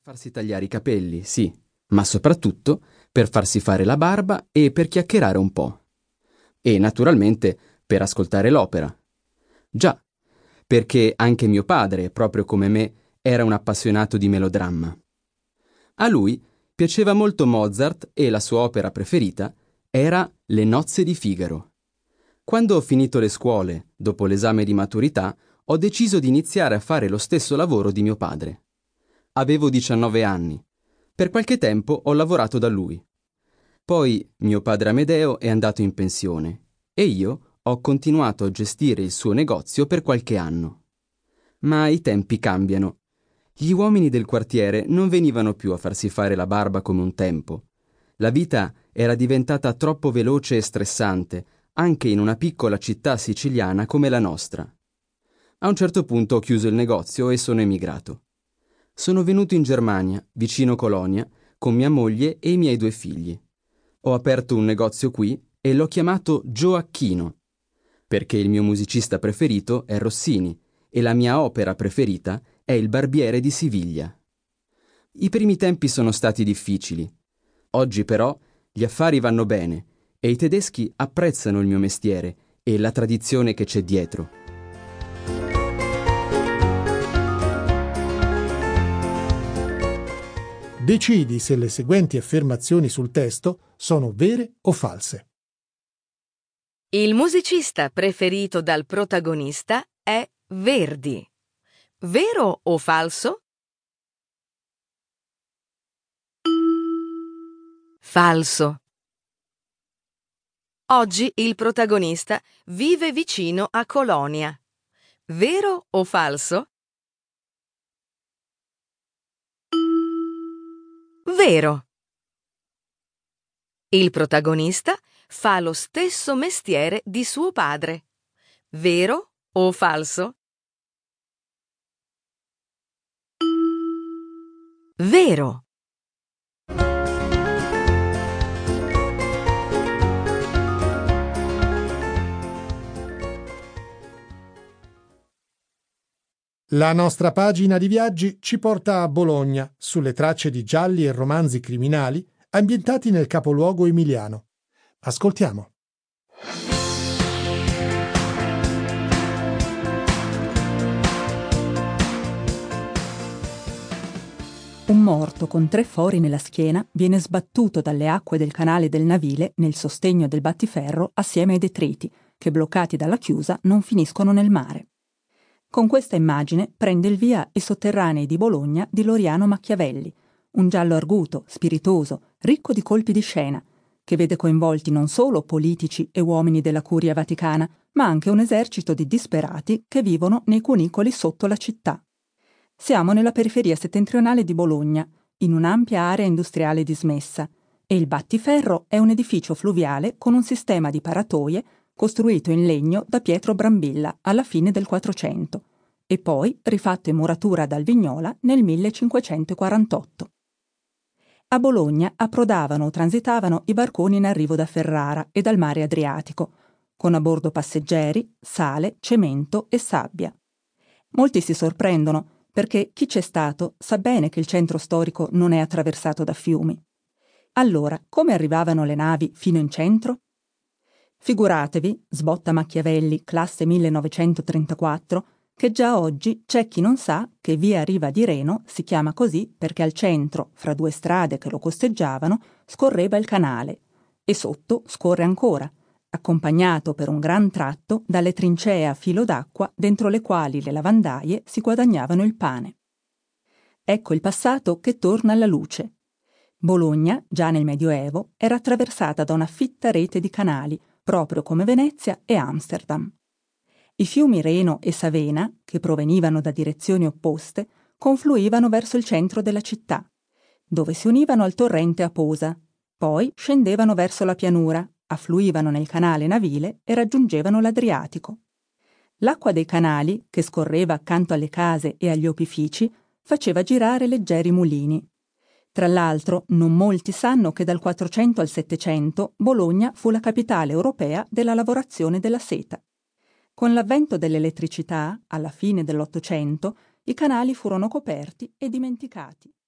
Farsi tagliare i capelli, sì, ma soprattutto per farsi fare la barba e per chiacchierare un po'. E naturalmente per ascoltare l'opera. Già, perché anche mio padre, proprio come me, era un appassionato di melodramma. A lui piaceva molto Mozart e la sua opera preferita era Le nozze di Figaro. Quando ho finito le scuole, dopo l'esame di maturità, ho deciso di iniziare a fare lo stesso lavoro di mio padre. Avevo 19 anni. Per qualche tempo ho lavorato da lui. Poi mio padre Amedeo è andato in pensione e io ho continuato a gestire il suo negozio per qualche anno. Ma i tempi cambiano. Gli uomini del quartiere non venivano più a farsi fare la barba come un tempo. La vita era diventata troppo veloce e stressante, anche in una piccola città siciliana come la nostra. A un certo punto ho chiuso il negozio e sono emigrato. Sono venuto in Germania, vicino Colonia, con mia moglie e i miei 2 figli. Ho aperto un negozio qui e l'ho chiamato Gioacchino, perché il mio musicista preferito è Rossini e la mia opera preferita è Il Barbiere di Siviglia. I primi tempi sono stati difficili. Oggi però gli affari vanno bene e i tedeschi apprezzano il mio mestiere e la tradizione che c'è dietro. Decidi se le seguenti affermazioni sul testo sono vere o false. Il musicista preferito dal protagonista è Verdi. Vero o falso? Falso. Oggi il protagonista vive vicino a Colonia. Vero o falso? Vero. Il protagonista fa lo stesso mestiere di suo padre. Vero o falso? Vero. La nostra pagina di viaggi ci porta a Bologna, sulle tracce di gialli e romanzi criminali ambientati nel capoluogo emiliano. Ascoltiamo. Un morto con 3 fori nella schiena viene sbattuto dalle acque del canale del Navile nel sostegno del battiferro assieme ai detriti, che bloccati dalla chiusa non finiscono nel mare. Con questa immagine prende il via I sotterranei di Bologna di Loriano Machiavelli, un giallo arguto, spiritoso, ricco di colpi di scena, che vede coinvolti non solo politici e uomini della Curia Vaticana, ma anche un esercito di disperati che vivono nei cunicoli sotto la città. Siamo nella periferia settentrionale di Bologna, in un'ampia area industriale dismessa, e il battiferro è un edificio fluviale con un sistema di paratoie costruito in legno da Pietro Brambilla alla fine del 400 e poi rifatto in muratura dal Vignola nel 1548. A Bologna approdavano o transitavano i barconi in arrivo da Ferrara e dal mare Adriatico, con a bordo passeggeri, sale, cemento e sabbia. Molti si sorprendono perché chi c'è stato sa bene che il centro storico non è attraversato da fiumi. Allora, come arrivavano le navi fino in centro? Figuratevi, sbotta Machiavelli, classe 1934, che già oggi c'è chi non sa che via Riva di Reno si chiama così perché al centro, fra 2 strade che lo costeggiavano, scorreva il canale e sotto scorre ancora, accompagnato per un gran tratto dalle trincee a filo d'acqua dentro le quali le lavandaie si guadagnavano il pane. Ecco il passato che torna alla luce. Bologna, già nel Medioevo, era attraversata da una fitta rete di canali, proprio come Venezia e Amsterdam. I fiumi Reno e Savena, che provenivano da direzioni opposte, confluivano verso il centro della città, dove si univano al torrente Aposa, poi scendevano verso la pianura, affluivano nel canale navile e raggiungevano l'Adriatico. L'acqua dei canali, che scorreva accanto alle case e agli opifici, faceva girare leggeri mulini. Tra l'altro, non molti sanno che dal 400 al 700 Bologna fu la capitale europea della lavorazione della seta. Con l'avvento dell'elettricità, alla fine dell'Ottocento, i canali furono coperti e dimenticati.